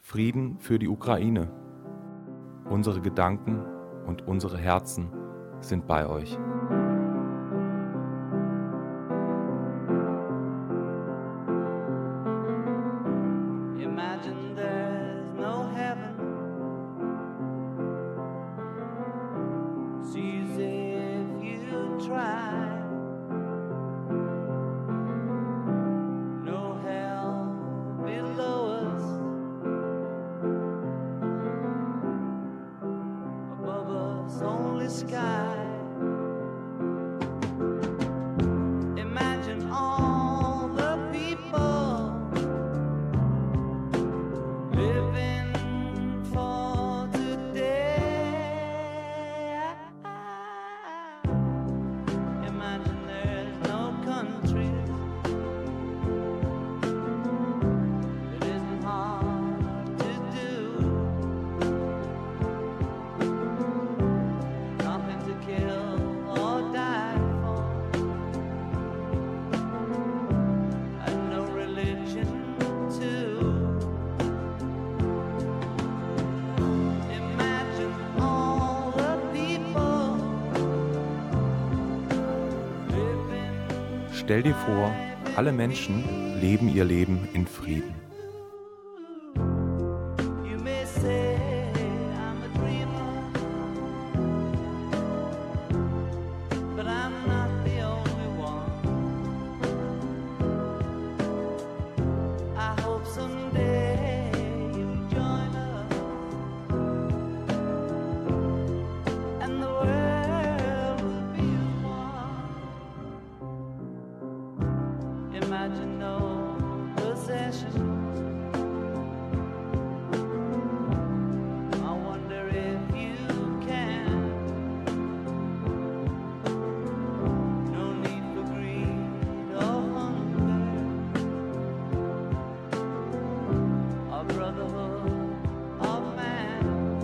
Frieden für die Ukraine. Unsere Gedanken und unsere Herzen sind bei euch. Imagine there's no heaven. It's easy if you try. No hell below us. Above us only sky. Imagine all the people living for today. Imagine there's no countries. It isn't hard to do. Nothing to kill or die for. And no religion too. Imagine all the people living. Stell dir vor, alle Menschen leben ihr Leben in Frieden. You may say I'm a dreamer, but I'm not the only one. I hope someday you'll join us, and the world will be as one. Imagine no possessions. I wonder if you can. No need for greed or hunger, or brotherhood of man.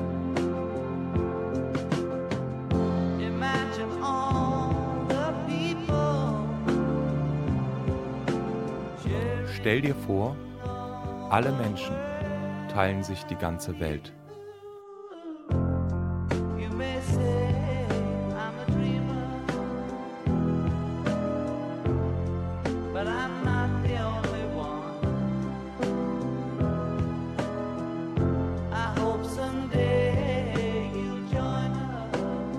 Imagine all the people. Stell dir vor, alle Menschen teilen sich die ganze Welt. You may say I'm a dreamer, but I'm not the only one. I hope someday you'll join us,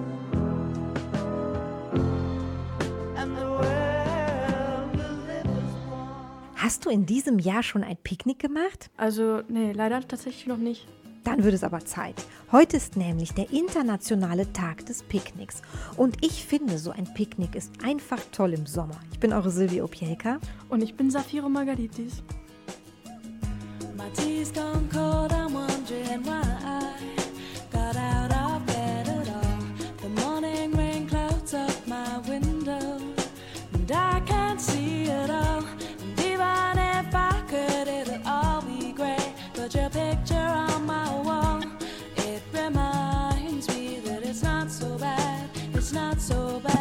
and the world will live as one. Hast du in diesem Jahr schon ein Picknick gemacht? Also, nee, leider tatsächlich noch nicht. Dann wird es aber Zeit. Heute ist nämlich der internationale Tag des Picknicks. Und ich finde, so ein Picknick ist einfach toll im Sommer. Ich bin eure Silvia Opielka. Und ich bin Safiro Margaritis. My tea's gone cold, I'm wondering why I got out of bed at all. The morning rain clouds up my window, and I can't see it all. And even if I could, it'd all be great. But your picture on my wall, it reminds me that it's not so bad, it's not so bad.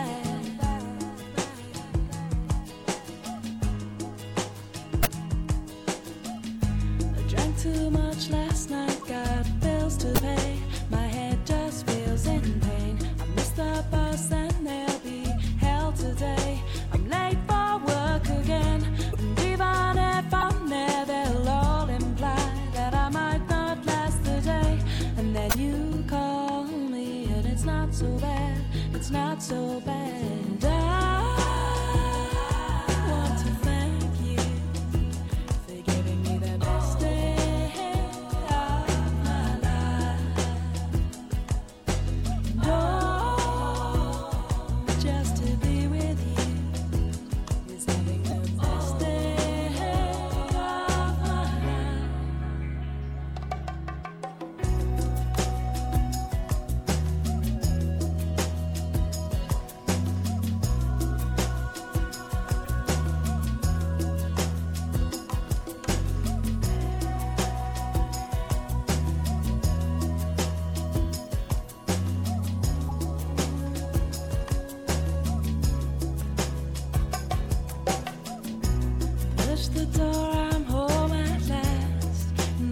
I drank too much last night, got bills to pay. My head just feels in pain. I missed the bus and there'll be hell today. I'm late for work again. And even if I'm there, they'll all imply that I might not last the day. And then you call me and it's not so bad, it's not so bad. And I want to thank you for giving me the best day of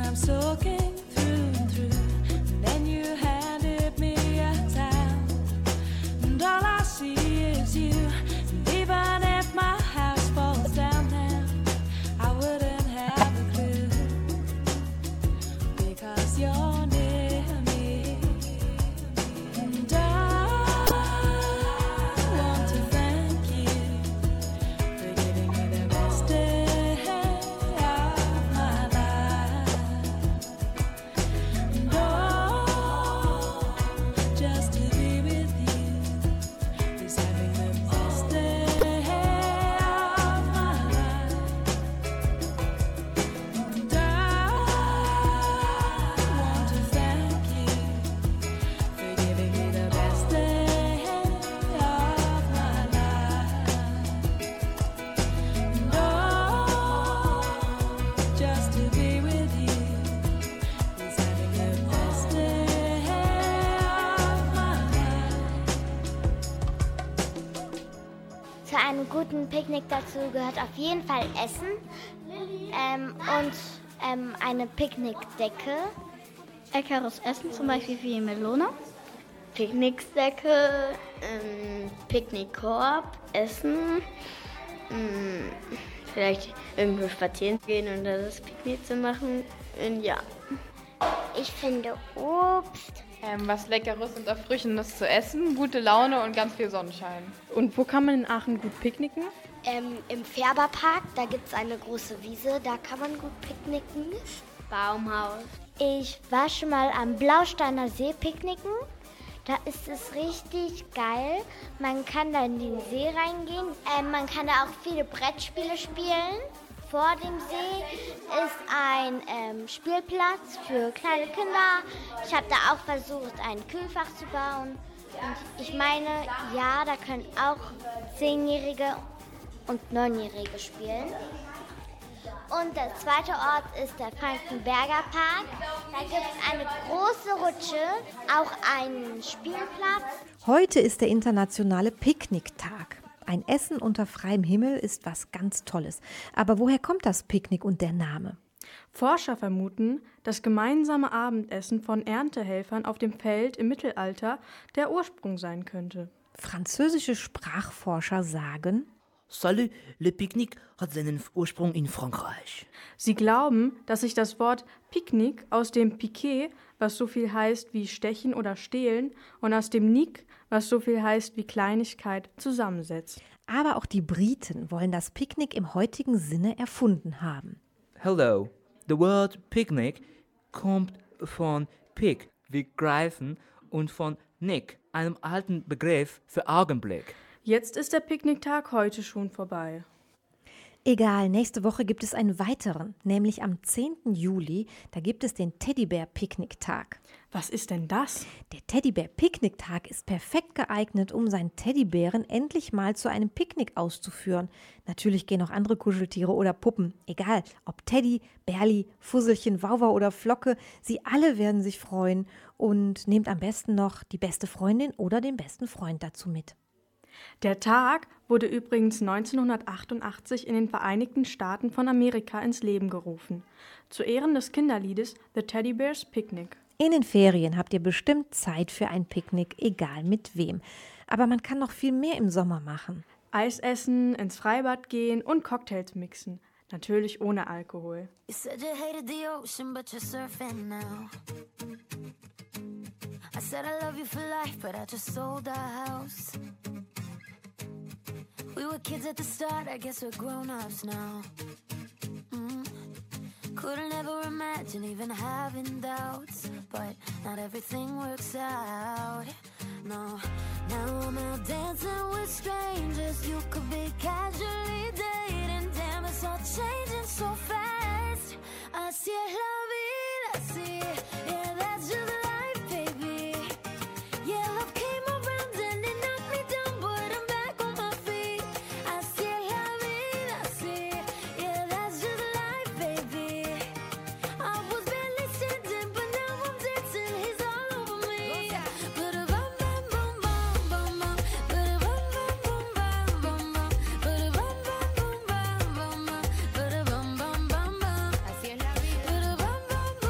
and I'm soaking through and through. And then you handed me a towel, and all I see is you. And even if my house falls down now, I wouldn't have a clue, because you're near me. And I want to thank you for giving me the best day of my life. And oh, just to be with you is having the best day of my life. And I want to thank you for giving me the best day of my life. And oh, just to be with you is having the best day of my life. Zu einem guten Picknick dazu gehört auf jeden Fall Essen und eine Picknickdecke. Leckeres Essen, zum Beispiel wie Melone. Picknickdecke, Picknickkorb, Essen, vielleicht irgendwo spazieren gehen und das Picknick zu machen. Ja. Ich finde Obst. Was Leckeres und Erfrischendes zu essen, gute Laune und ganz viel Sonnenschein. Und wo kann man in Aachen gut picknicken? Im Färberpark, da gibt es eine große Wiese, da kann man gut picknicken. Baumhaus. Ich war schon mal am Blausteiner See picknicken. Da ist es richtig geil. Man kann da in den See reingehen. Man kann da auch viele Brettspiele spielen. Vor dem See ist ein Spielplatz für kleine Kinder. Ich habe da auch versucht, ein Kühlfach zu bauen. Und ich meine, ja, da können auch 10-Jährige und 9-Jährige spielen. Und der zweite Ort ist der Frankenberger Park. Da gibt es eine große Rutsche, auch einen Spielplatz. Heute ist der internationale Picknicktag. Ein Essen unter freiem Himmel ist was ganz Tolles. Aber woher kommt das Picknick und der Name? Forscher vermuten, dass gemeinsame Abendessen von Erntehelfern auf dem Feld im Mittelalter der Ursprung sein könnte. Französische Sprachforscher sagen: Salut, le Pique-Nique hat seinen Ursprung in Frankreich. Sie glauben, dass sich das Wort Picknick aus dem Piquet, was so viel heißt wie stechen oder stehlen, und aus dem Nick, was so viel heißt wie Kleinigkeit, zusammensetzt. Aber auch die Briten wollen das Picknick im heutigen Sinne erfunden haben. Hello, the word Picnic kommt von Pick, wie greifen, und von Nick, einem alten Begriff für Augenblick. Jetzt ist der Picknicktag heute schon vorbei. Egal, nächste Woche gibt es einen weiteren, nämlich am 10. Juli, da gibt es den Teddybär-Picknicktag. Was ist denn das? Der Teddybär-Picknicktag ist perfekt geeignet, um seinen Teddybären endlich mal zu einem Picknick auszuführen. Natürlich gehen auch andere Kuscheltiere oder Puppen, egal ob Teddy, Bärli, Fusselchen, Wauwau oder Flocke, sie alle werden sich freuen, und nehmt am besten noch die beste Freundin oder den besten Freund dazu mit. Der Tag wurde übrigens 1988 in den Vereinigten Staaten von Amerika ins Leben gerufen, zu Ehren des Kinderliedes The Teddy Bears Picnic. In den Ferien habt ihr bestimmt Zeit für ein Picknick, egal mit wem. Aber man kann noch viel mehr im Sommer machen. Eis essen, ins Freibad gehen und Cocktails mixen. Natürlich ohne Alkohol. You said you hated the ocean, but you're surfing now. I said I love you for life, but I just sold our house. We were kids at the start, I guess we're grown-ups now. Couldn't ever imagine even having doubts, but not everything works out. No, now I'm out dancing with strangers. You could be casually dating. Damn, it's all changing so fast. Así es la vida, así, yeah, that's just life, baby. Yeah, love came around and it knocked me down, but I'm back on my feet. Así es la vida, así, yeah, that's just life, baby. I was barely standing, but now I'm dancing. He's all over me. Ba-da-bum, bum, bum, bum, bum, bum. Ba-da-bum, bum, bum, bum, bum, bum. Ba-da-bum, bum, bum, bum, bum, bum. Ba-da-bum, bum, bum, bum. Así es la vida. Ba-da-bum, bum,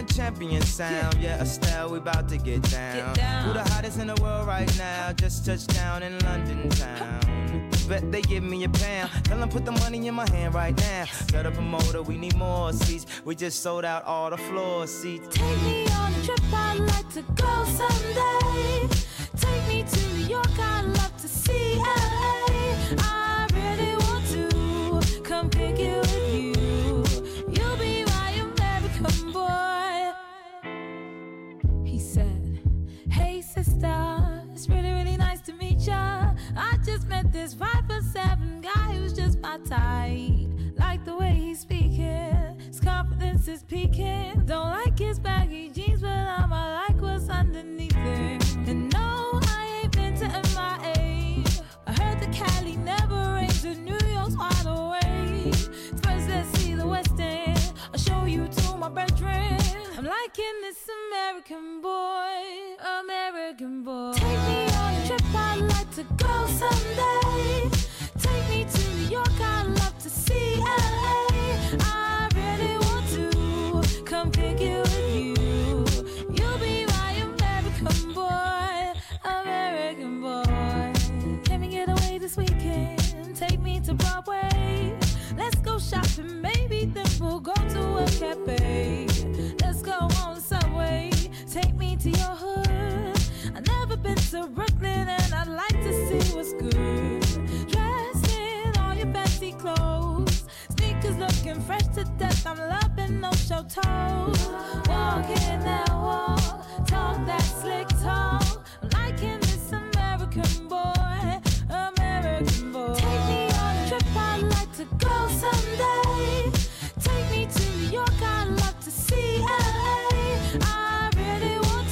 #1 champion sound. Yeah, Estelle, we about to get down. Who the hottest in the world right now? Just touched down in London town. Bet they give me a pound. Tell them put the money in my hand right now. Set up a motor, we need more seats. We just sold out all the floor seats. Take me on a trip, I'd like to go someday. Take me to New York, I'd love to see LA. I really want to come pick you with you. You'll be my American boy. He said, hey sister, it's really, really nice to meet ya. I just met this 5'7" guy who's just my type. Like the way he's speaking, his confidence is peaking. Don't like his baggy jeans, but I'ma like what's underneath it. And no, I ain't been to MIA. I heard the Cali never rains and New York's wide awake. First let's see the West End, I'll show you to my bedroom. I'm liking this American boy, American boy. Take me on a trip, I'd like to go someday. Take me to New York, I'd love to see LA. I really want to come pick you with you. You'll be my American boy, American boy. Can we get away this weekend? Take me to Broadway. Let's go shopping, maybe then we'll go to a cafe. Let's go on the subway, take me to your hood. I've never been to Brooklyn and I'd like to see what's good. Dressed in all your fancy clothes, sneakers looking fresh to death. I'm loving no show toes. Walking that walk, talk that slick talk. I'm liking this American boy, American boy. Take me on a trip, I'd like to go someday. Take me to New York, I'd love to see LA. I really want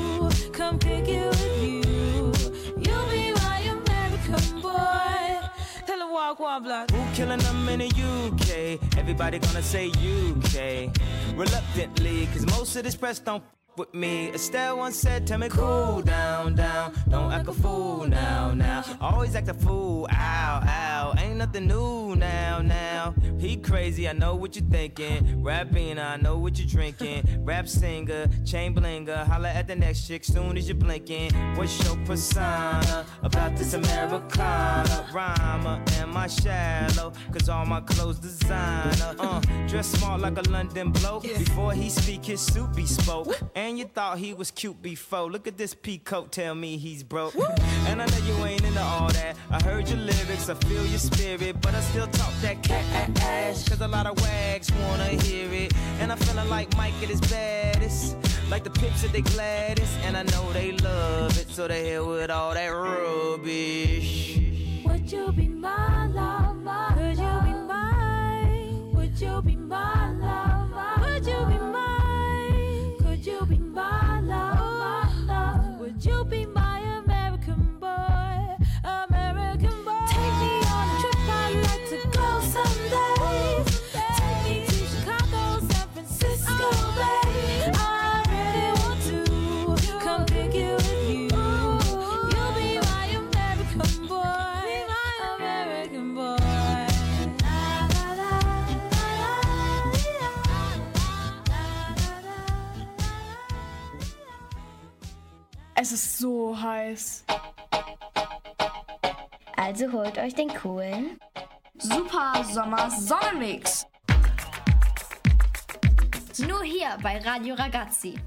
to come pick you with you. You'll be my American boy. Tell him walk one block. Who killing them in the UK? Everybody gonna say UK. Reluctantly, cause most of this press don't with me. Estelle once said, tell me cool down, down. Don't act a fool now, now. Always act a fool, ow, ow. Ain't nothing new now, now. He crazy, I know what you're thinking. Rapping, I know what you're drinking. Rap singer, chain blinger. Holla at the next chick soon as you're blinking. What's your persona about this Americana? Rhymer, am I shallow? Cause all my clothes designer. Dress smart like a London bloke. Before he speak, his suit be spoke. And you thought he was cute before. Look at this peacoat, tell me he's broke. And I know you ain't into all that. I heard your lyrics, I feel your spirit, but I still talk that cat ass. Cause a lot of wags wanna hear it. And I'm feeling like Mike at his baddest. Like the Pips at they gladdest. And I know they love it, so they hell with all that rubbish. Would you be my lover? Could you be mine? Would you be my lover? Would you be mine? Could you be my lover? Would you be my American boy? American boy. Take me on a trip, I'd like to go someday. Take me to Chicago, San Francisco, Bay. I really want to come pick you with you. You'll be my American boy, my American boy. Es ist so heiß. Also holt euch den coolen Super Sommer Sonnenmix. Nur hier bei Radio Ragazzi.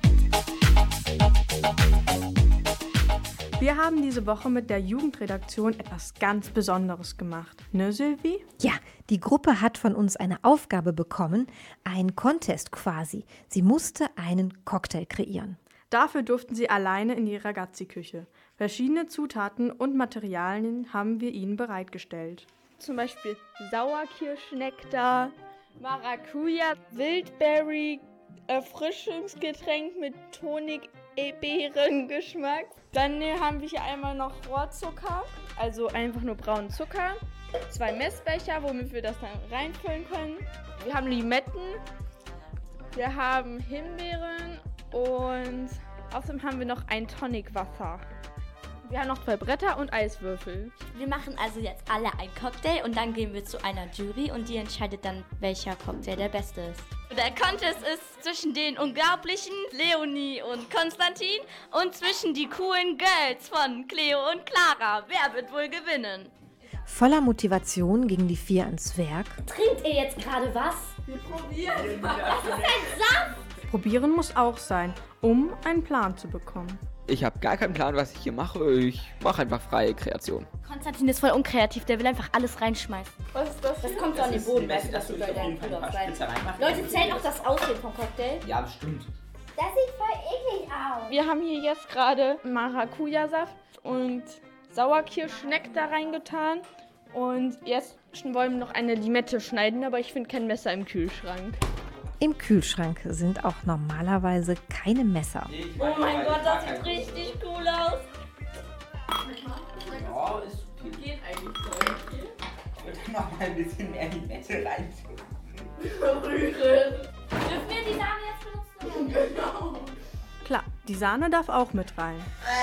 Wir haben diese Woche mit der Jugendredaktion etwas ganz Besonderes gemacht. Ne, Sylvie? Ja, die Gruppe hat von uns eine Aufgabe bekommen, einen Contest quasi. Sie musste einen Cocktail kreieren. Dafür durften sie alleine in die Ragazzi-Küche. Verschiedene Zutaten und Materialien haben wir ihnen bereitgestellt. Zum Beispiel Sauerkirschnektar, Maracuja, Wildberry, Erfrischungsgetränk mit Honig-Beerengeschmack. Dann haben wir hier einmal noch Rohrzucker, also einfach nur braunen Zucker. 2 Messbecher, womit wir das dann reinfüllen können. Wir haben Limetten, wir haben Himbeeren und außerdem haben wir noch ein Tonicwasser. Wir haben noch 2 Bretter und Eiswürfel. Wir machen also jetzt alle einen Cocktail und dann gehen wir zu einer Jury und die entscheidet dann, welcher Cocktail der beste ist. Der Contest ist zwischen den unglaublichen Leonie und Konstantin und zwischen die coolen Girls von Cleo und Clara. Wer wird wohl gewinnen? Voller Motivation gingen die 4 ans Werk. Trinkt ihr jetzt gerade was? Wir probieren. Das ist ein Saft! Probieren muss auch sein, um einen Plan zu bekommen. Ich habe gar keinen Plan, was ich hier mache. Ich mache einfach freie Kreation. Konstantin ist voll unkreativ, der will einfach alles reinschmeißen. Was ist das? Das kommt so an den Boden, weißt du, das soll dein Puder sein. Leute, zählt auch das Aussehen vom Cocktail? Ja, bestimmt. Das sieht voll eklig aus. Wir haben hier jetzt gerade Maracuja-Saft und Sauerkirschneck da reingetan. Und jetzt wollen wir noch eine Limette schneiden, aber ich finde kein Messer im Kühlschrank. Im Kühlschrank sind auch normalerweise keine Messer. Oh mein Gott, das sieht richtig cool aus. Oh, ist okay. Geht eigentlich so. Ich würde noch mal ein bisschen mehr Limette rein tun. Rühren. Dürfen wir die Sahne jetzt benutzen? Genau. Klar, die Sahne darf auch mit rein.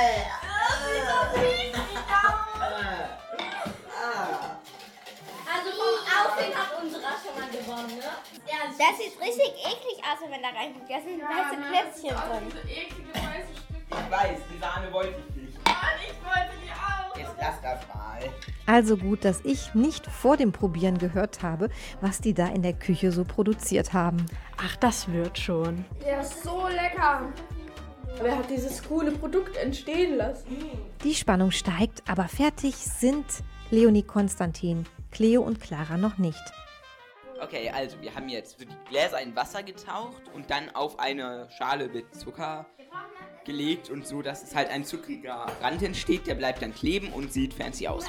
Also vom Aussehen hat unserer schon mal gewonnen, ne? Ja, Das sieht richtig eklig aus, wenn man da reinguckt. Da sind weiße Klötzchen drin. Ich weiß, die Sahne wollte ich nicht. Ich wollte die auch. Jetzt lass das mal. Also gut, dass ich nicht vor dem Probieren gehört habe, was die da in der Küche so produziert haben. Ach, das wird schon. Der ist so lecker. Wer hat dieses coole Produkt entstehen lassen? Die Spannung steigt, aber fertig sind Leonie, Konstantin, Cleo und Clara noch nicht. Okay, also wir haben jetzt die Gläser in Wasser getaucht und dann auf eine Schale mit Zucker gelegt und so, dass es halt ein zuckriger Rand entsteht. Der bleibt dann kleben und sieht fancy aus.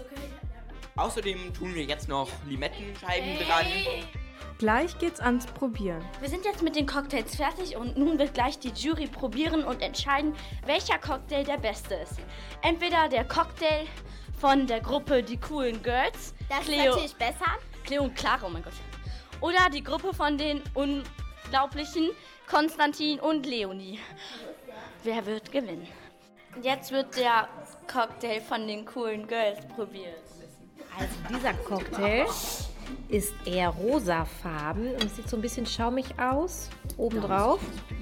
Außerdem tun wir jetzt noch Limettenscheiben dran. Gleich geht's ans Probieren. Wir sind jetzt mit den Cocktails fertig und nun wird gleich die Jury probieren und entscheiden, welcher Cocktail der beste ist. Entweder der Cocktail von der Gruppe Die Coolen Girls, Das ist Cleo, natürlich besser. Cleo und Clara, oh mein Gott. Oder die Gruppe von den unglaublichen Konstantin und Leonie. Wer wird gewinnen? Jetzt wird der Cocktail von den Coolen Girls probiert. Also dieser Cocktail ist eher rosafarben und sieht so ein bisschen schaumig aus, obendrauf.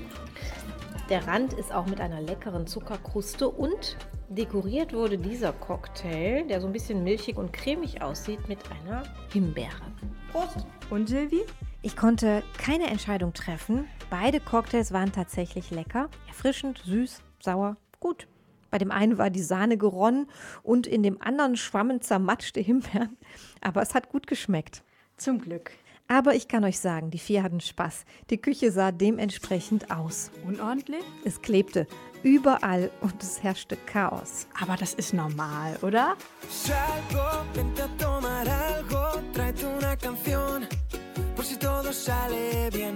Der Rand ist auch mit einer leckeren Zuckerkruste und dekoriert wurde dieser Cocktail, der so ein bisschen milchig und cremig aussieht, mit einer Himbeere. Prost! Und Silvi? Ich konnte keine Entscheidung treffen. Beide Cocktails waren tatsächlich lecker. Erfrischend, süß, sauer, gut. Bei dem einen war die Sahne geronnen und in dem anderen schwammen zermatschte Himbeeren. Aber es hat gut geschmeckt. Zum Glück. Aber ich kann euch sagen, die 4 hatten Spaß. Die Küche sah dementsprechend aus. Unordentlich? Es klebte überall und es herrschte Chaos. Aber das ist normal, oder? Salgo, vente a tomar algo, tráete una canción, por si todo sale bien.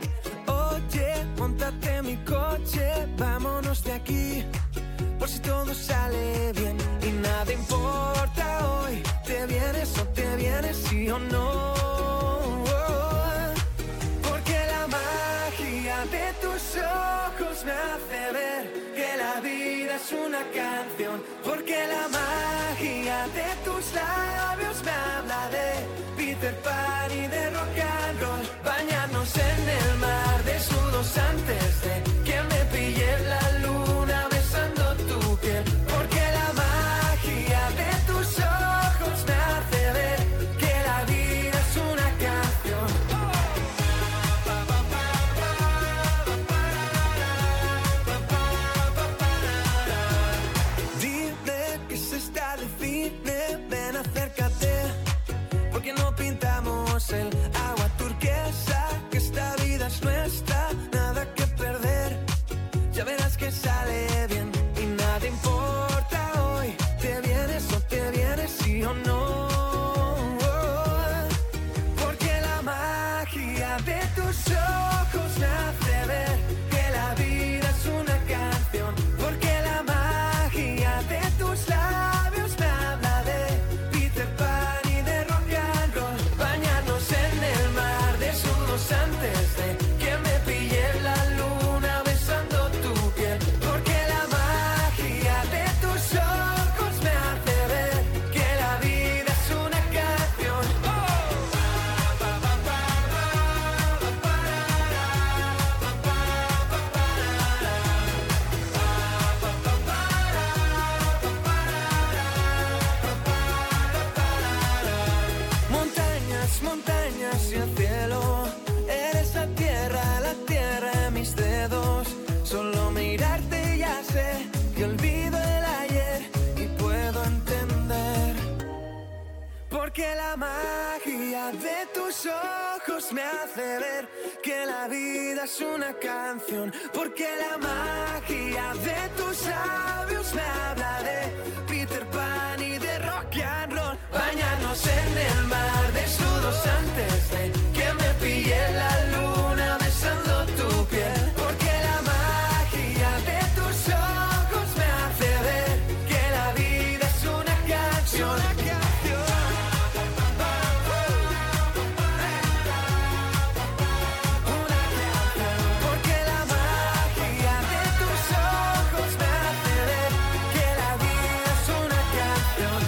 Oye, montate en mi coche, vámonos de aquí, por si todo sale bien. Y nada importa hoy, te vienes o te vienes, sí o no. Porque la magia de tus ojos me hace ver que la vida es una canción. Porque la magia de tus labios me habla de Peter Pan y de rock and roll. Bañarnos en el mar desnudos antes de que me pille la luna besando tu piel. Porque la magia de tus ojos me hace ver que la vida es una canción. Dime que se está de cine, ven acércate, porque no pintamos el agua turquesa, que esta vida es nuestra, nada que perder, ya verás que sale bien. Y nada importa hoy, te vienes o te vienes, sí o no. Porque la magia de tus ojos me hace ver que la vida es una canción. Porque la magia de tus labios me habla de Peter Pan y de rock and roll. Bañarnos en el mar desnudos antes de que me pille la luna besando tu piel. Porque la magia de tus ojos Porque la magia de tus ojos me hace ver que la vida es una canción. Porque la magia de tus labios me habla de Peter Pan y de rock and roll. Bañarnos en el mar desnudos antes de que me pille la luna besando tu piel. Porque la magia de tus ojos me hace ver que la vida es una canción. Porque la magia de tus ojos me hace ver que la vida es una canción.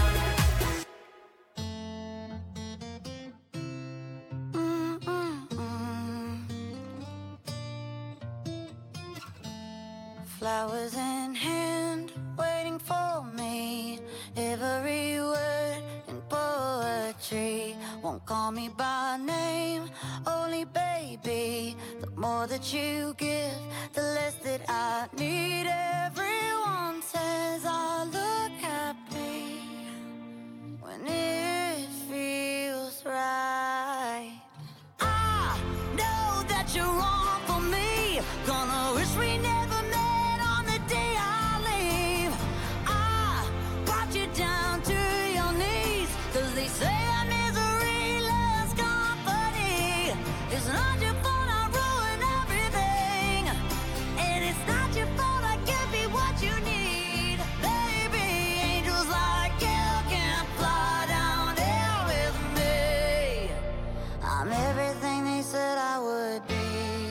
Flowers in hand, waiting for me. Every word in poetry. Won't call me by name, only baby. The more that you give, the less that I need. Everyone says I look happy when it feels right. I know that you're wrong for me. Gonna wish we never met on the day I leave. I brought you down to your knees, 'cause they say that misery loves company. It's not your fault I ruin everything, and it's not your fault I can't be what you need. Baby, angels like you can't fly down here with me. I'm everything they said I would be.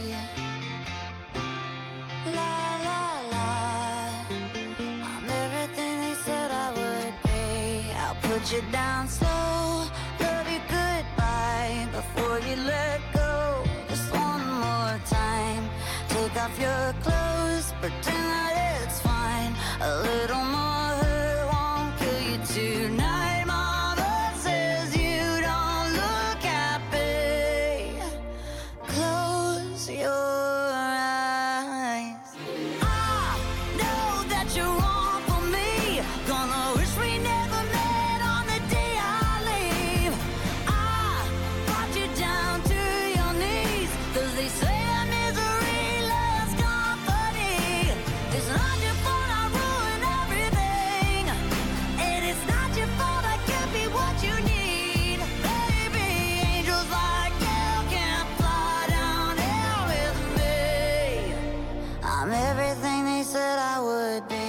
La la la. I'm everything they said I would be. I'll put you down slow, love you goodbye before you let go. Just one more time. Take off your clothes, pretend that it's fine. A little more hurt won't kill you tonight. Mama says you don't look happy. Close your eyes. I know that you're wrong for me. Gonna wish we never met on the day I leave. I brought you down to your knees, 'cause they say that misery loves company. It's not your fault I ruin everything, and it's not your fault I can't be what you need. Baby, angels like you can't fly down here with me. I'm everything they said I would be.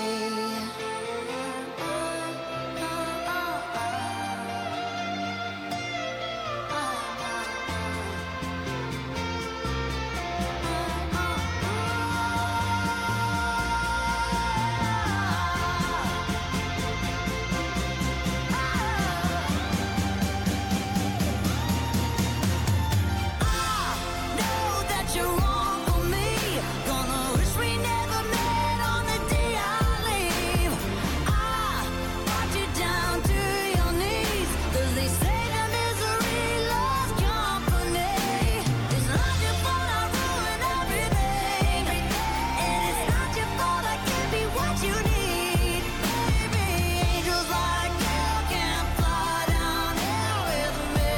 Know that you're wrong for me. Gonna wish we never met on the day I leave. I brought you down to your knees, 'cause they say that misery loves company. It's not your fault I ruin everything, and it's not your fault I can't be what you need. Baby, angels like you can't fly down here with me.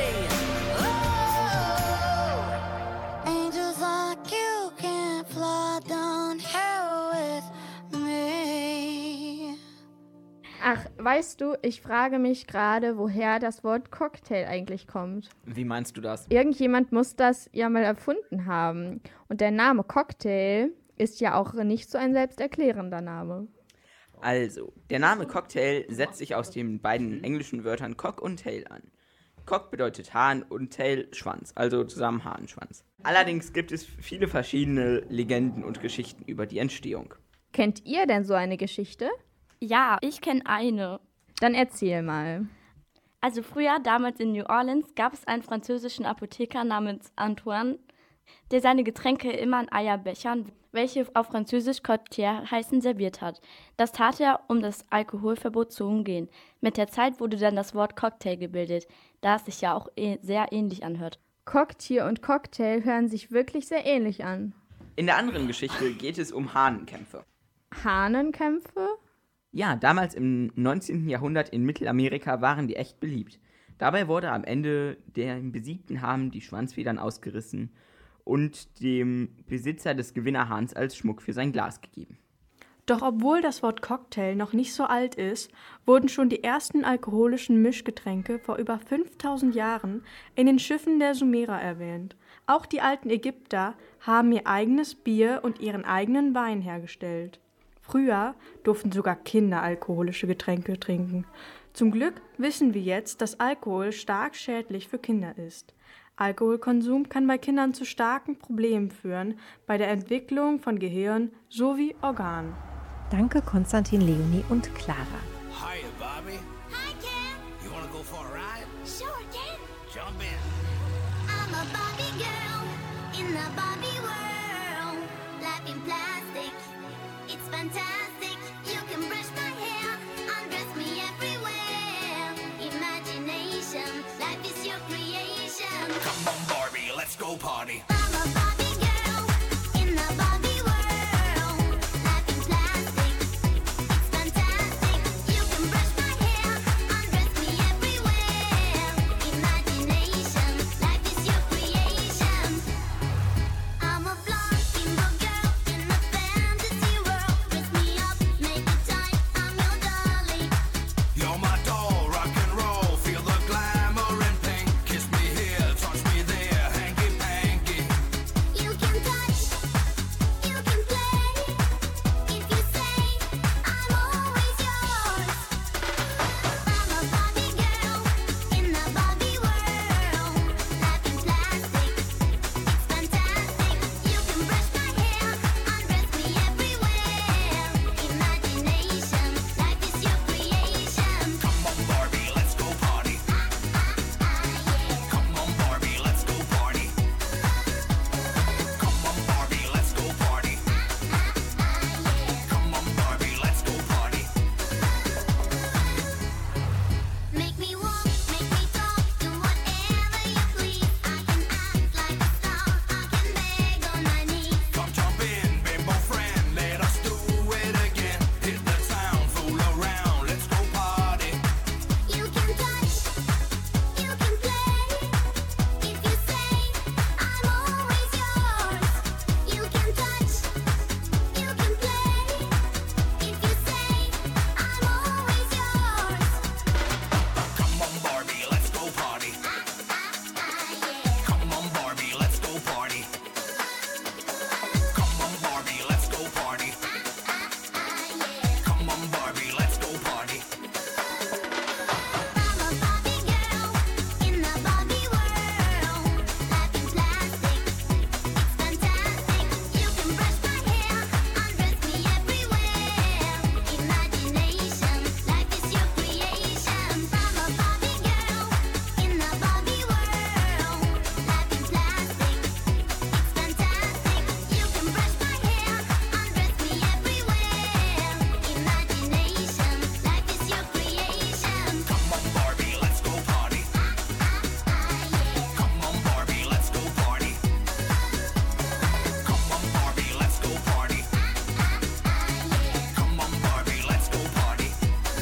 Oh, angels like you can't fly down here with me. Ach, weißt du, ich frage mich gerade, woher das Wort Cocktail eigentlich kommt. Wie meinst du das? Irgendjemand muss das ja mal erfunden haben. Und der Name Cocktail ist ja auch nicht so ein selbsterklärender Name. Also, der Name Cocktail setzt sich aus den beiden englischen Wörtern Cock und Tail an. Cock bedeutet Hahn und Tail Schwanz, also zusammen Hahnschwanz. Allerdings gibt es viele verschiedene Legenden und Geschichten über die Entstehung. Kennt ihr denn so eine Geschichte? Ja, ich kenne eine. Dann erzähl mal. Also früher, damals in New Orleans, gab es einen französischen Apotheker namens Antoine, der seine Getränke immer in Eierbechern, welche auf Französisch Cocktail heißen, serviert hat. Das tat er, um das Alkoholverbot zu umgehen. Mit der Zeit wurde dann das Wort Cocktail gebildet, da es sich ja auch sehr ähnlich anhört. Cocktier und Cocktail hören sich wirklich sehr ähnlich an. In der anderen Geschichte geht es um Hahnenkämpfe. Hahnenkämpfe? Ja, damals im 19. Jahrhundert in Mittelamerika waren die echt beliebt. Dabei wurde am Ende dem besiegten Hahn die Schwanzfedern ausgerissen und dem Besitzer des Gewinnerhahns als Schmuck für sein Glas gegeben. Doch obwohl das Wort Cocktail noch nicht so alt ist, wurden schon die ersten alkoholischen Mischgetränke vor über 5000 Jahren in den Schiffen der Sumerer erwähnt. Auch die alten Ägypter haben ihr eigenes Bier und ihren eigenen Wein hergestellt. Früher durften sogar Kinder alkoholische Getränke trinken. Zum Glück wissen wir jetzt, dass Alkohol stark schädlich für Kinder ist. Alkoholkonsum kann bei Kindern zu starken Problemen führen, bei der Entwicklung von Gehirn sowie Organen. Danke Konstantin, Leonie und Clara. Hiya, Bobby. Hi, Ken. You wanna go for a ride? Sure, Ken. Jump in. I'm a Barbie girl in the Barbie world. Life in plastic, it's fantastic. You can brush my hair, undress me everywhere. Imagination, life is your creation. Come on, Barbie, let's go party. I'm a Barbie girl in the Barbie world. Life in plastic, it's fantastic. You can brush my hair, undress me everywhere. Imagination, life is your creation. I'm a blonde single girl in a fantasy world. Dress me up, make it tight, I'm your darling. You're my doll, rock and roll. Feel the glamour and pink. Kiss me here, touch me there, hanky panky. You can touch, you can play. If you say I'm always yours. I'm a Barbie girl in the Barbie world. Life in plastic, it's fantastic. You can brush my hair, undress me everywhere. Imagination, life is your creation. Come on, Barbie, let's go party. Come on, Barbie, let's go party. Come on, Barbie, let's go party. Come on, Barbie, let's go party. Make me walk, make me talk, do whatever you please. I can act like a star, I can beg on my knees. Come jump in, bimbo friend, let us do it again. Hit the town, fool around, let's go party. You can touch, you can play. If you say I'm always yours. You can touch, you can play. If you say I'm always yours. Come on, Barbie, let's go party. Come on, Barbie, let's go party. Come on, Barbie, let's go party. Come on, Barbie, let's go party. I'm a Barbie girl in the Barbie world. Life in plastic, it's fantastic. You can brush my hair, undress me everywhere. Imagination, life is your creation. I'm a Barbie girl in the Barbie world. Life in plastic, it's fantastic. You can brush my hair, undress me everywhere. Imagination, life is your creation. Come on, Barbie, let's go party. Come on, Barbie, let's go party. Come on, Barbie, let's go party. Come on, Barbie, let's go party.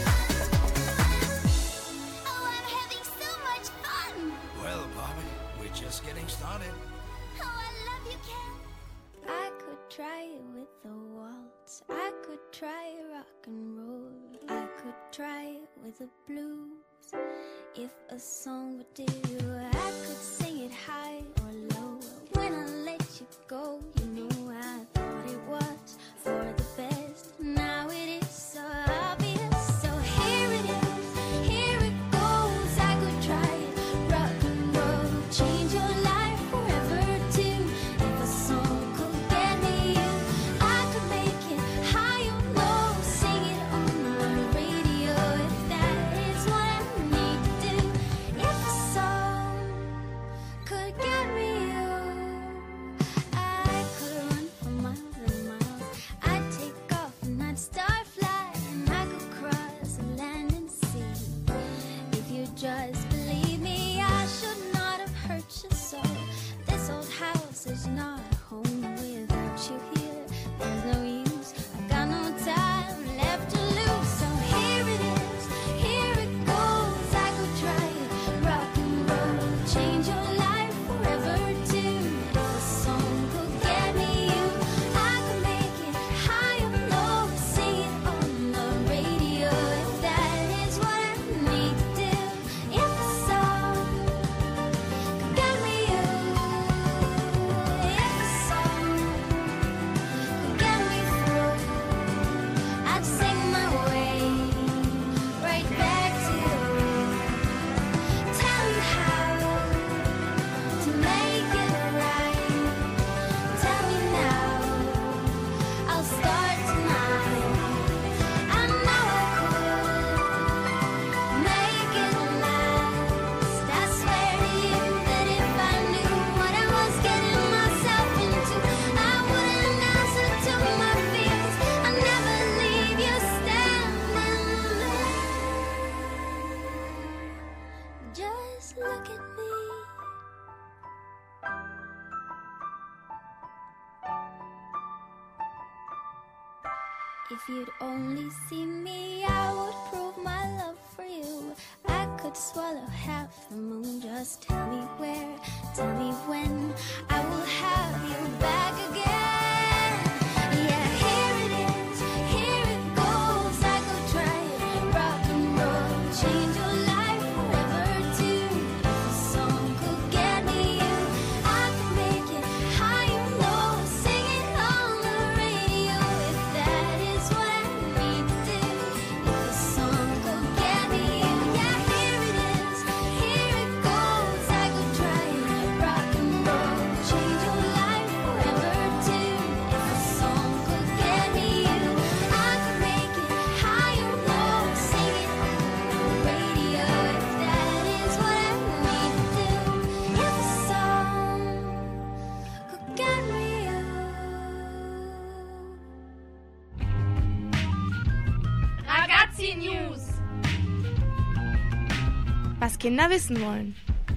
Oh, I'm having so much fun. Well, Barbie, we're just getting started. Oh, I love you, Ken. I could try it with the waltz. I could try rock and roll. I could try it with the blues. If a song would do, I could sing it high or low. When I let you go, you know I thought it was for the best. Now it is so obvious. So here it is, here it goes. I could try it, rock and roll, change your life forever too. If a song could get me you, I could make it high or low, sing it on the radio. If that is what I need to do, if a song could get me you, I could run for miles and miles. I'd take off and I'd start flying. I could cross the land and sea. If you just believe me, I should not have hurt you so. This old house is not a home without you here. There's no use, I got no time left to lose. So here it is, here it goes. I could try it, Just look at me. If you'd only see me, I would prove my love for you. I could swallow half the moon. Just tell me where, tell me when. I will have you back again. Yeah, here it is, here it goes. I could try it, rock and roll, change your life forever too. If a song could get me you, I could make it high and low, sing it on the radio. If that is what I need to do, if a song could get me you, yeah, here it is, here it goes. I could try it, rock and roll, change your life forever too. If a song could get me you, I could make it high and low, sing it on the radio. If that is what I need to do, if a song could get me you. Ragazzi News. Was Kinder wissen wollen.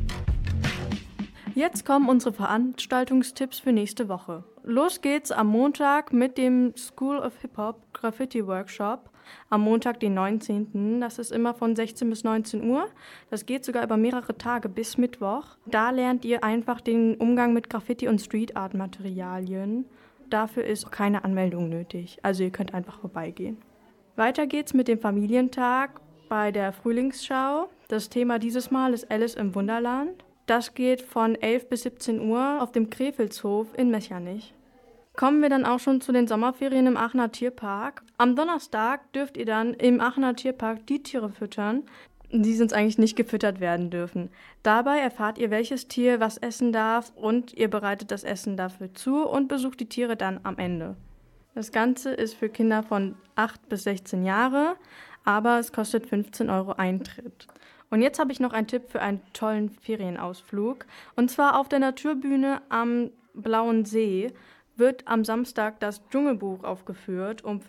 Jetzt kommen unsere Veranstaltungstipps für nächste Woche. Los geht's am Montag mit dem School of Hip Hop Graffiti Workshop. Am Montag, den 19. Das ist immer von 16 bis 19 Uhr. Das geht sogar über mehrere Tage bis Mittwoch. Da lernt ihr einfach den Umgang mit Graffiti und Street Art Materialien. Dafür ist keine Anmeldung nötig. Also ihr könnt einfach vorbeigehen. Weiter geht's mit dem Familientag bei der Frühlingsschau. Das Thema dieses Mal ist Alice im Wunderland. Das geht von 11 bis 17 Uhr auf dem Krefelshof in Mechernich. Kommen wir dann auch schon zu den Sommerferien im Aachener Tierpark. Am Donnerstag dürft ihr dann im Aachener Tierpark die Tiere füttern, die sonst eigentlich nicht gefüttert werden dürfen. Dabei erfahrt ihr, welches Tier was essen darf und ihr bereitet das Essen dafür zu und besucht die Tiere dann am Ende. Das Ganze ist für Kinder von 8 bis 16 Jahre, aber es kostet 15 € Eintritt. Und jetzt habe ich noch einen Tipp für einen tollen Ferienausflug. Und zwar auf der Naturbühne am Blauen See wird am Samstag das Dschungelbuch aufgeführt um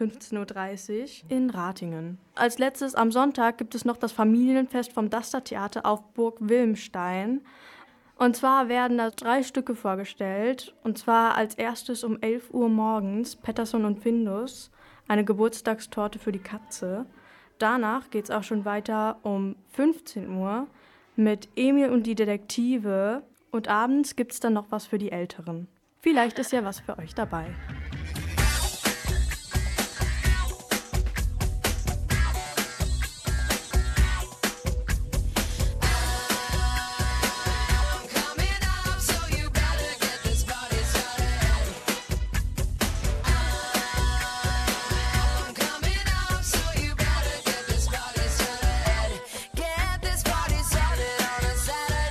15:30 Uhr in Ratingen. Als letztes am Sonntag gibt es noch das Familienfest vom Daster-Theater auf Burg Wilmstein. Und zwar werden da 3 Stücke vorgestellt. Und zwar als erstes um 11 Uhr morgens Pettersson und Findus, eine Geburtstagstorte für die Katze. Danach geht es auch schon weiter um 15 Uhr mit Emil und die Detektive. Und abends gibt es dann noch was für die Älteren. Vielleicht ist ja was für euch dabei.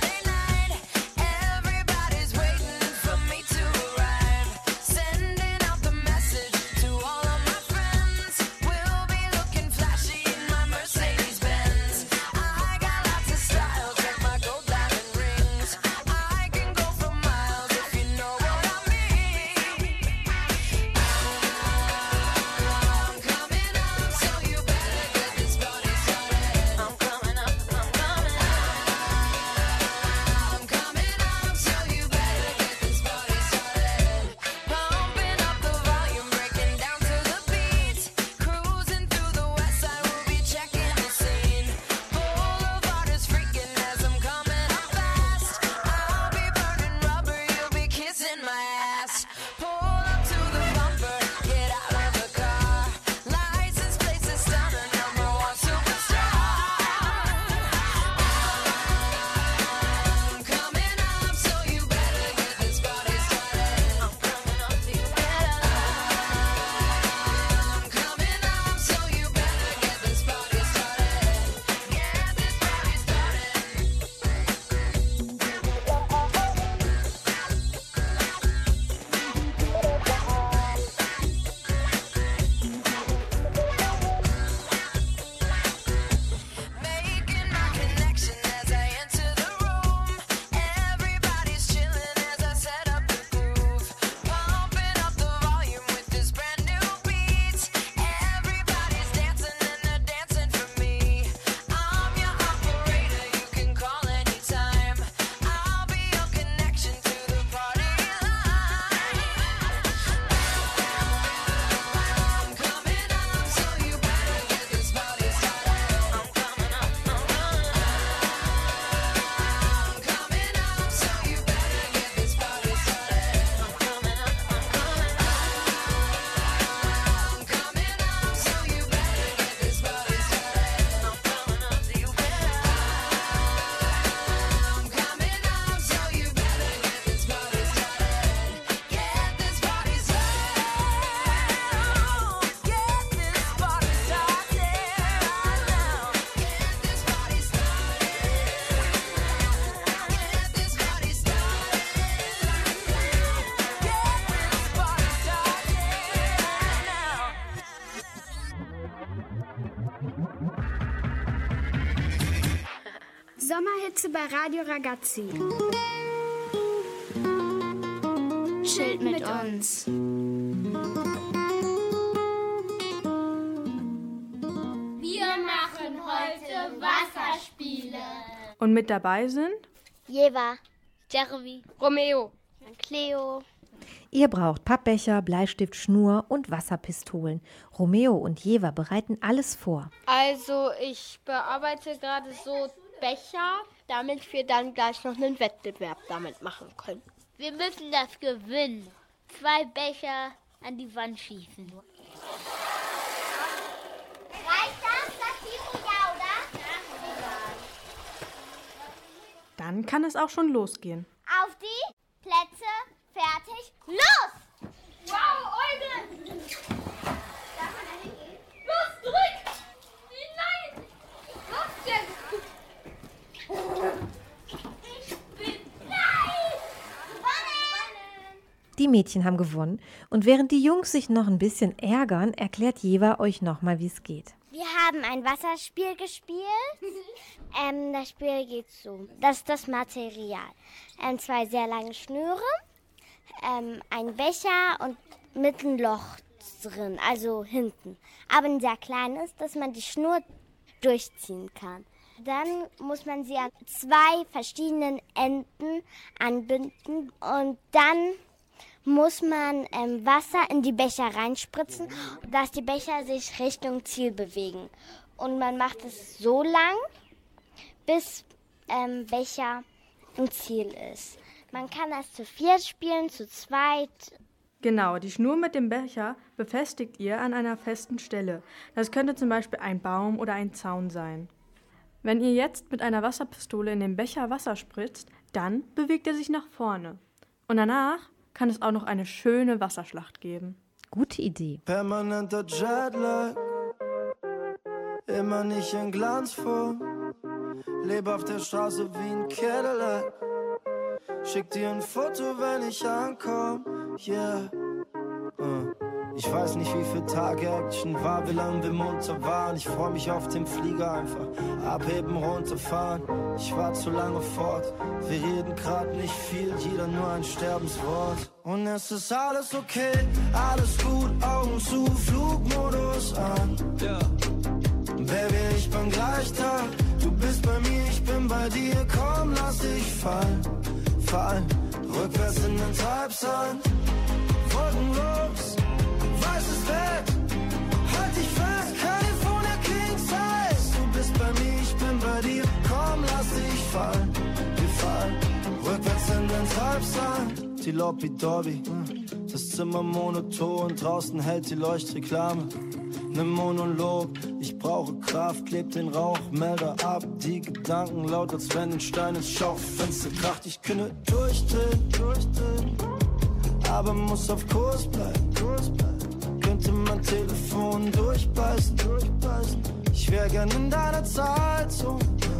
Everybody's waiting for me to arrive. Sending Sommerhitze bei Radio Ragazzi. Chillt mit uns. Wir machen heute Wasserspiele. Und mit dabei sind Jeva, Jeremy, Romeo, Cleo. Ihr braucht Pappbecher, Bleistift, Schnur und Wasserpistolen. Romeo und Jeva bereiten alles vor. Also ich bearbeite gerade so Becher, damit wir dann gleich noch einen Wettbewerb damit machen können. Wir müssen das gewinnen. 2 Becher an die Wand schießen. Reicht das Tiro, ja, oder? Dann kann es auch schon losgehen. Auf die Plätze, fertig, los! Wow, Eugen! Darf man da hingehen? Los, zurück! Nein! Los, jetzt! Ich bin... Nein! Gewonnen! Die Mädchen haben gewonnen und während die Jungs sich noch ein bisschen ärgern, erklärt Jeva euch nochmal, wie es geht. Wir haben ein Wasserspiel gespielt. Das Spiel geht so. Das ist das Material. 2 sehr lange Schnüre, ein Becher und mit einem Loch drin, also hinten. Aber ein sehr kleines, dass man die Schnur durchziehen kann. Dann muss man sie an 2 verschiedenen Enden anbinden und dann muss man Wasser in die Becher reinspritzen, dass die Becher sich Richtung Ziel bewegen. Und man macht es so lang, bis Becher im Ziel ist. Man kann das zu 4 spielen, zu 2. Genau, die Schnur mit dem Becher befestigt ihr an einer festen Stelle. Das könnte zum Beispiel ein Baum oder ein Zaun sein. Wenn ihr jetzt mit einer Wasserpistole in den Becher Wasser spritzt, dann bewegt er sich nach vorne. Und danach kann es auch noch eine schöne Wasserschlacht geben. Gute Idee. Permanenter Jetlag, immer nicht in Glanzform. Lebe auf der Straße wie ein Cadillac. Schick dir ein Foto, wenn ich ankomm. Yeah. Ich weiß nicht, wie viel Tage Action war, wie lange wir munter waren. Ich freu mich auf den Flieger, einfach abheben, runterfahren. Ich war zu lange fort, wir reden grad nicht viel, jeder nur ein Sterbenswort. Und es ist alles okay, alles gut, Augen zu, Flugmodus an. Baby, ich bin gleich da, du bist bei mir, ich bin bei dir. Komm, lass dich fallen, fallen, rückwärts in den Treibsand. Wolkenlos, weißes Bett, halt dich fest, California King Size. Du bist bei mir, ich bin bei dir, komm, lass dich fallen, wir fallen, rückwärts in den Treibsand. Die Lobby-Dobby, das Zimmer monoton, draußen hält die Leuchtreklame. Ne Monolog, ich brauche Kraft, kleb den Rauch, melde ab, die Gedanken laut, als wenn ein Stein ins Schaufenster kracht. Ich könnte durchdrehen, aber muss auf Kurs bleiben, könnte mein Telefon durchbeißen. Ich wär gern in deiner Zeitzone,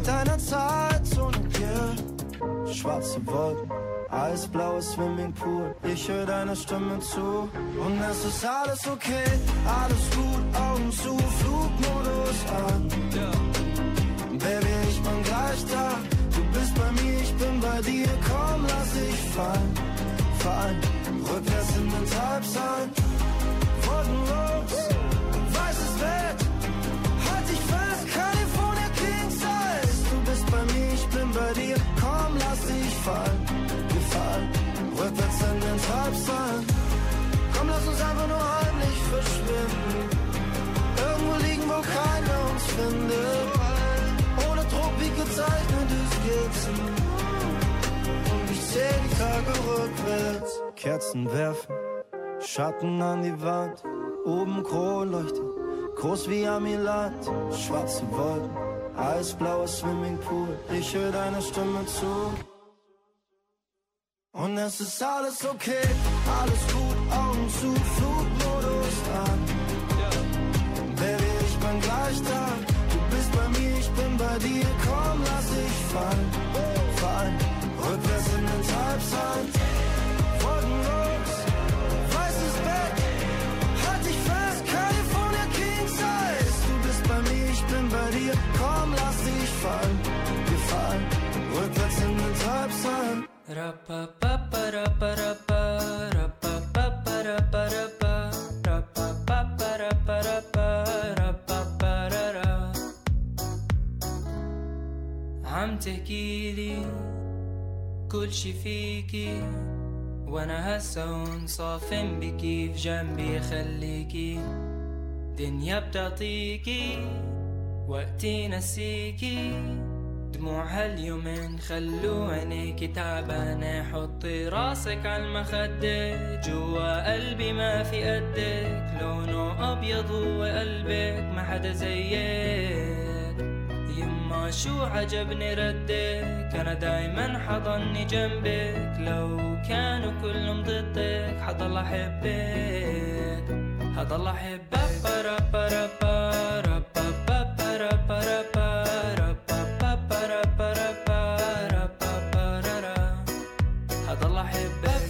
yeah. Schwarze Wolken, eisblaues Swimmingpool, ich höre deiner Stimme zu. Und es ist alles okay, alles gut, Augen zu, Flugmodus an. Baby, ich bin gleich da, du bist bei mir, ich bin bei dir. Komm, lass dich fallen, fallen, rückwärts in den Treibsand. Wolkenlos, weißes Bett, halt dich fest, California King Size. Du bist bei mir, ich bin bei dir. Komm, lass dich fallen, wir fallen, rückwärts in den Treibsand. Komm, lass uns einfach nur heimlich verschwinden. Irgendwo liegen, wo keiner uns findet. Ohne Druck wie gezeichnete Skizzen. Und ich seh die Tage rückwärts. Kerzen werfen, Schatten an die Wand. Oben Kronleuchter, groß wie Amiland. Schwarze Wolken, eisblaues Swimmingpool. Ich höre deiner Stimme zu. Und es ist alles okay, alles gut, Augen zu, Flugmodus an. Baby, ich bin gleich da, du bist bei mir, ich bin bei dir. Komm, lass dich fallen, fallen, rückwärts in den Treibsand. Wolkenlos, weißes Bett, halt dich fest, California King Size. Du bist bei mir, ich bin bei dir. Komm, lass dich fallen, wir fallen, عم تحكيلي كل شي فيكي وانا هسا هون صافن بكي في جنبي خليكي دنيا بتعطيكي وقتي نسيكي دموع هاليومين خلو عينيكي تعبانة حطي راسك عالمخدة جوا قلبي ما في قدك لونه أبيض وقلبك ما حدا زيك يما شو عجبني ردك أنا دايما حضني جنبك لو كانوا كلهم ضدك حضل أحبك حضل أحبك حضل أحبك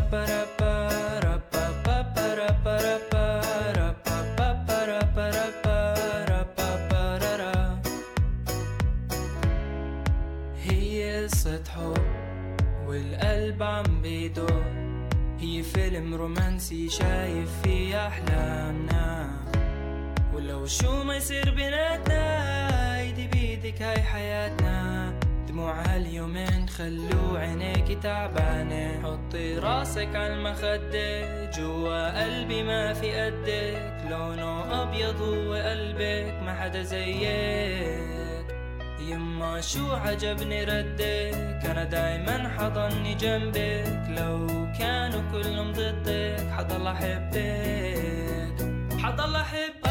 هي قصة حب والقلب عم بيدور هي فيلم رومانسي شايف فيه أحلامنا ولو شو ما يصير بيناتنا ايدي بيدك هاي حياتنا دموع هاليومين خلو عينيكي تعبانة حطي راسك عالمخدة جوا قلبي ما في قدك لونه أبيض وقلبك ما حدا زيك يما شو عجبني ردك أنا دايما حضني جنبك لو كانوا كلهم ضدك حضل أحبك حضل أحبك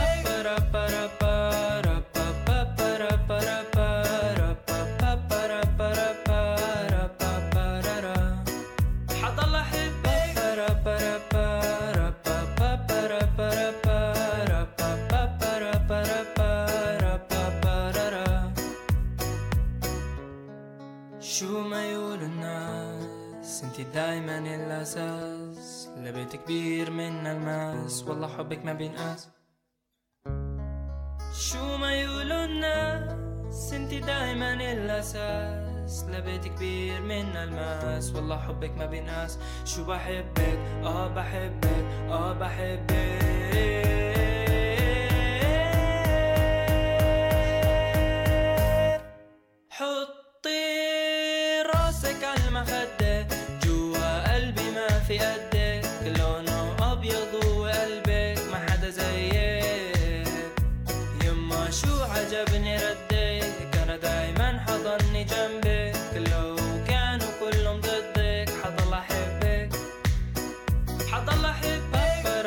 حضل شو ما يقول الناس انتي دايما الأساس لبيت كبير من الماس والله حبك ما بينقاس شو ما يقولوا الناس انتي دايما الأساس لبيت كبير من الماس والله حبك ما بينقاس شو بحبك بحبك بحبك حطي راسك عالمخدة جوا قلبي ما في قدك لونه أبيض وقلبك ما حدا زيك يما شو عجبني ردك أنا دايما حضني جنبك لو كانوا كلهم ضدك حضل أحبك حضل أحبك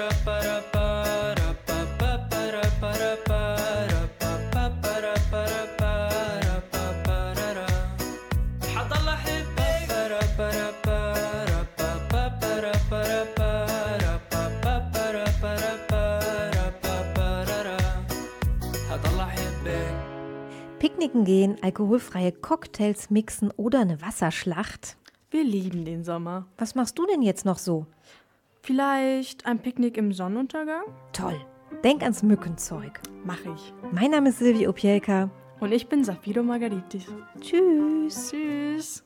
Picknicken gehen, alkoholfreie Cocktails mixen oder eine Wasserschlacht? Wir lieben den Sommer. Was machst du denn jetzt noch so? Vielleicht ein Picknick im Sonnenuntergang? Toll. Denk ans Mückenzeug. Mach ich. Mein Name ist Silvi Opielka. Und ich bin Safiro Margaritis. Tschüss. Tschüss.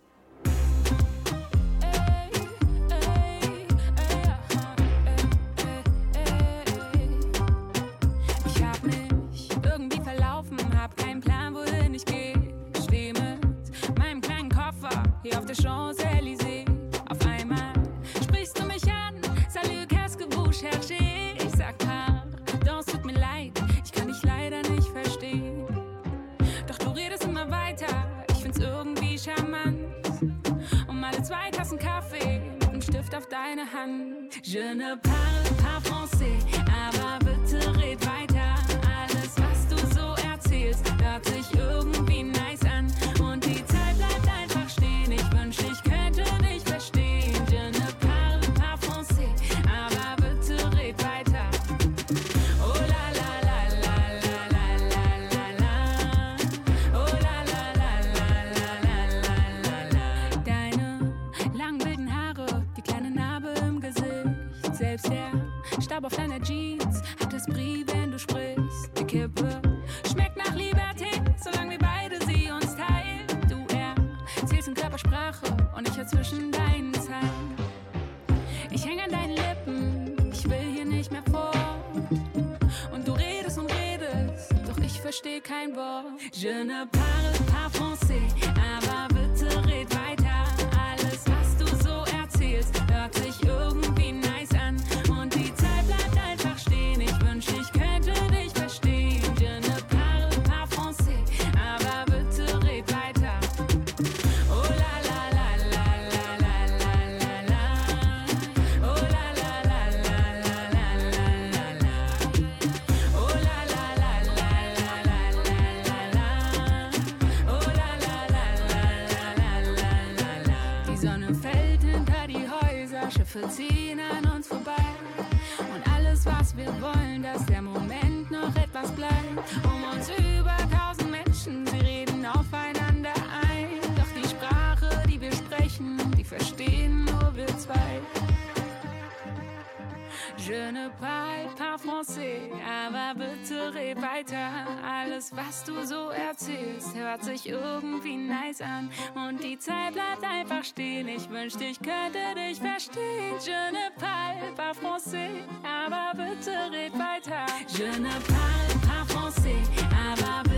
Ich hab mich irgendwie verlaufen, hab keinen Plan, wohin ich geh. Steh mit meinem kleinen Koffer hier auf der Champs-Élysées. Auf einmal sprichst du mich an, salut, qu'est-ce que vous cherchez? Ich sag pardon, es tut mir leid, ich kann dich leider nicht verstehen. Doch du redest immer weiter, ich find's irgendwie charmant. Und alle 2 Tassen Kaffee mit einem Stift auf deine Hand. Je ne parle pas français, aber bitte red weiter. Alles, was du so erzählst, hört sich irgendwie nice an. Und die Zeit bleibt einfach stehen, ich wünschte, ich könnte dich verstehen. Je ne parle pas français, aber bitte red weiter. Oh la la la la la la la la la. Oh la la la la la la la la la. Deine langen wilden Haare, die kleine Narbe im Gesicht. Selbst der Staub auf deiner Jeans hat das Brie, wenn du sprichst. Die Kippe schmeckt nach Liberté, solange wir beide sie uns teilen. Du erzählst in Körpersprache und ich hör zwischen deinen Zeilen. Ich häng an deinen Lippen, ich will hier nicht mehr fort. Und du redest und redest, doch ich versteh kein Wort. Je ne parle pas français, aber bitte red weiter. Alles, was du so erzählst, hört sich irgendwie nice an. Und die Zeit bleibt einfach stehen, ich wünsch, ich könnte dich verstehen. Je ne parle pas français, aber bitte red weiter. Oh la la la la la la la la la. Oh la la la la la la la la la. Oh la la la la la la la la la. Oh la la la la la la la la. Die Sonne fällt hinter die Häuser, Schiffe ziehen an uns vorbei. Und alles, was wir wollen, dass der Moment noch etwas bleibt. Um uns über 1000 Menschen, sie reden aufeinander ein. Doch die Sprache, die wir sprechen, die verstehen nur wir zwei. Je ne parle pas français, aber bitte red weiter. Alles, was du so erzählst, hört sich irgendwie nice an. Und die Zeit bleibt einfach stehen, ich wünschte, ich könnte dich verstehen. Je ne parle pas français, aber bitte red weiter. Je ne parle pas français, aber bitte